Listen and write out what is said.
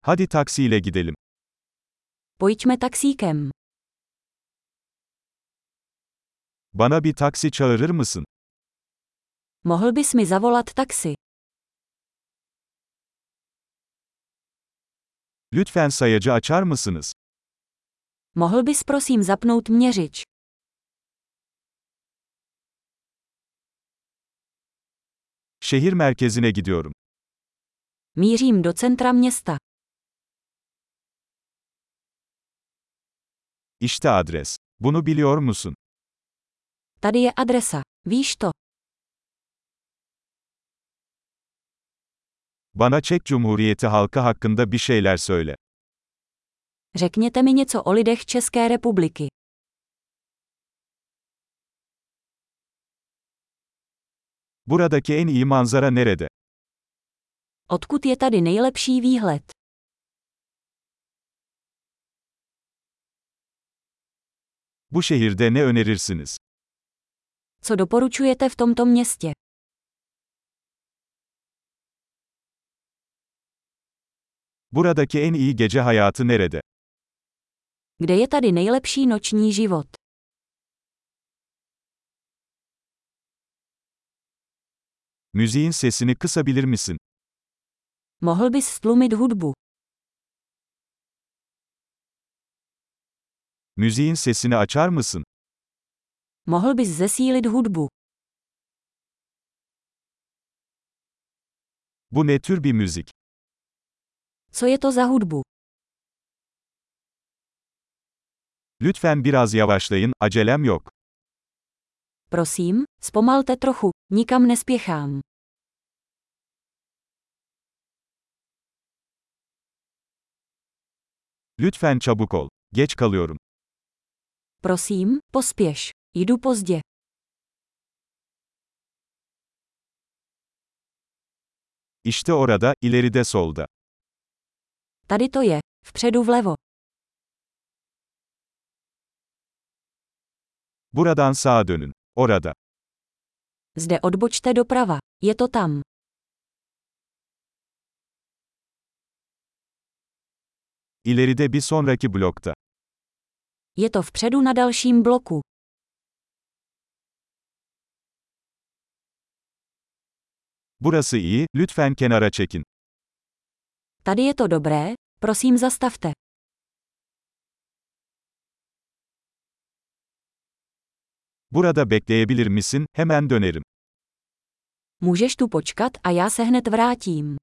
Hadi taksiyle gidelim. Pojďme taxíkem. Bana bir taksi çağırır mısın? Mohl bys mi zavolat taxi? Lütfen sayacı açar mısınız? Mohl bys prosím zapnout měřič? Şehir merkezine gidiyorum. Mířím do centra města. İşte adres. Bunu biliyor musun? Tady je adresa. Víš to? Bana Çek Cumhuriyeti halkı hakkında bir şeyler söyle. Řekněte mi něco o lidech České republiky. Buradaki en iyi manzara nerede? Odkud je tady nejlepší výhled? Bu şehirde ne önerirsiniz? Co doporučujete v tomto městě? Buradaki en iyi gece hayatı nerede? Kde je tady nejlepší noční život? Müziğin sesini kısabilir misin? Mohl bys stlumit hudbu? Müziğin sesini açar mısın? Mohl bys zesílit hudbu? Bu ne tür bir müzik? Co je to za hudbu? Lütfen biraz yavaşlayın, acelem yok. Prosím, zpomalte trochu, nikam nespěchám. Lütfen çabuk ol. Geç kalıyorum. Prosím, pospěš. Jdu pozdě. İşte orada, ileride solda. Tady to je, vpředu vlevo. Buradan sağa dönün. Orada. Zde odbočte doprava. Je to tam. İleride bir sonraki blokta. Je to vpředu na dalším bloku. Burası iyi, lütfen kenara çekin. Tady je to dobré, prosím zastavte. Burada bekleyebilir misin? Hemen dönerim. Můžeš tu počkat a já se hned vrátím.